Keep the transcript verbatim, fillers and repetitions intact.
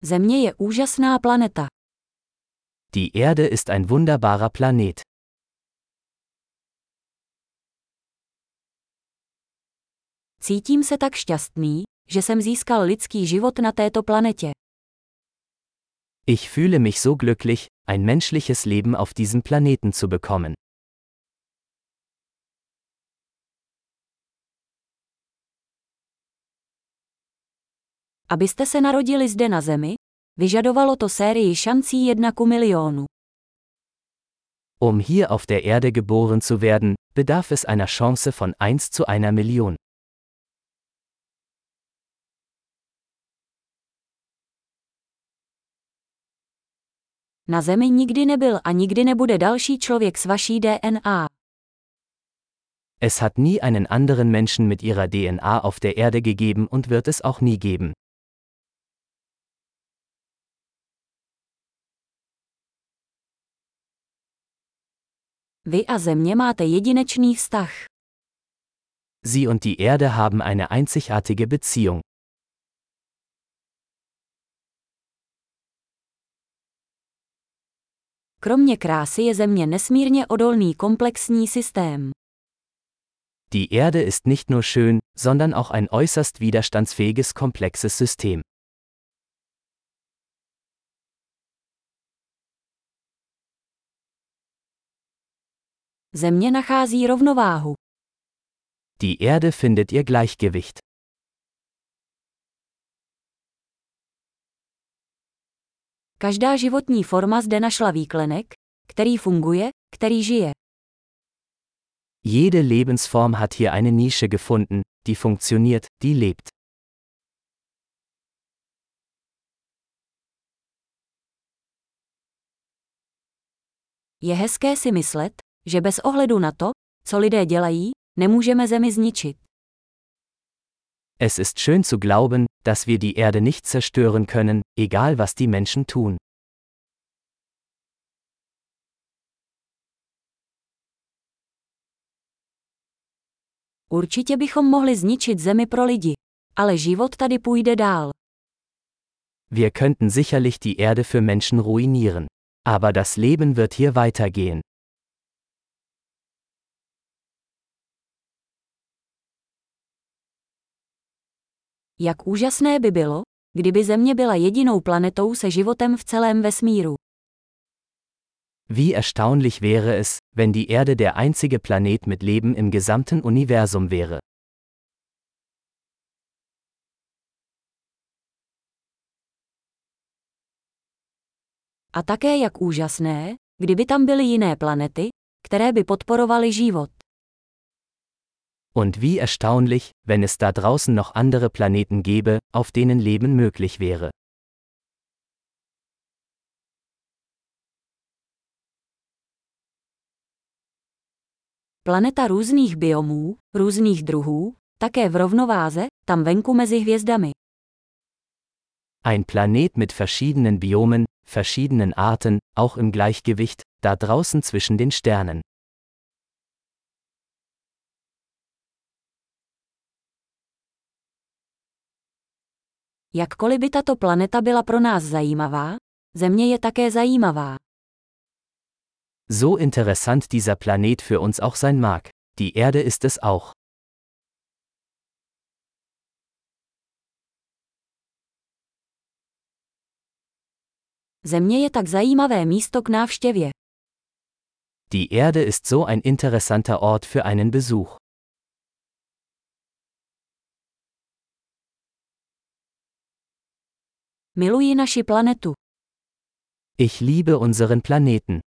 Země je úžasná planeta. Die Erde ist ein wunderbarer Planet. Cítím se tak šťastný, že jsem získal lidský život na této planetě. Ich fühle mich so glücklich, ein menschliches Leben auf diesem Planeten zu bekommen. Abyste se narodili zde na Zemi, vyžadovalo to sérii šancí jedna ku milionu. Um hier auf der Erde geboren zu werden, bedarf es einer Chance von eins zu einer Million. Na Zemi nikdy nebyl a nikdy nebude další člověk s vaší D N A. Es hat nie einen anderen Menschen mit ihrer D N A auf der Erde gegeben und wird es auch nie geben. Vy a Země máte jedinečný vztah. Sie und die Erde haben eine einzigartige Beziehung. Kromě krásy je Země nesmírně odolný komplexní systém. Die Erde ist nicht nur schön, sondern auch ein äußerst widerstandsfähiges komplexes System. Země nachází rovnováhu. Die Erde findet ihr Gleichgewicht. Každá životní forma zde našla výklenek, který funguje, který žije. Jede Lebensform hat hier eine Nische gefunden, die funktioniert, die lebt. Je hezké si myslet, že bez ohledu na to, co lidé dělají, nemůžeme Zemi zničit. Es ist schön zu glauben, dass wir die Erde nicht zerstören können, egal was die Menschen tun. Určitě bychom mohli zničit Zemi pro lidi, ale život tady půjde dál. Wir könnten sicherlich die Erde für Menschen ruinieren. Aber das Leben wird hier weitergehen. Jak úžasné by bylo, kdyby Země byla jedinou planetou se životem v celém vesmíru. Wie erstaunlich wäre es, wenn die Erde der einzige Planet mit Leben im gesamten Universum wäre. A také jak úžasné, kdyby tam byly jiné planety, které by podporovaly život. Und wie erstaunlich, wenn es da draußen noch andere Planeten gäbe, auf denen Leben möglich wäre. Planeta různých biomů, různých druhů, také v rovnováze, tam venku mezi hvězdami. Ein Planet mit verschiedenen Biomen, verschiedenen Arten, auch im Gleichgewicht, da draußen zwischen den Sternen. Jakkoliv by tato planeta byla pro nás zajímavá, Země je také zajímavá. So interessant dieser Planet für uns auch sein mag, die Erde ist es auch. Země je tak zajímavé místo k návštěvě. Die Erde ist so ein interessanter Ort für einen Besuch. Miluji naši planetu. Ich liebe unseren Planeten.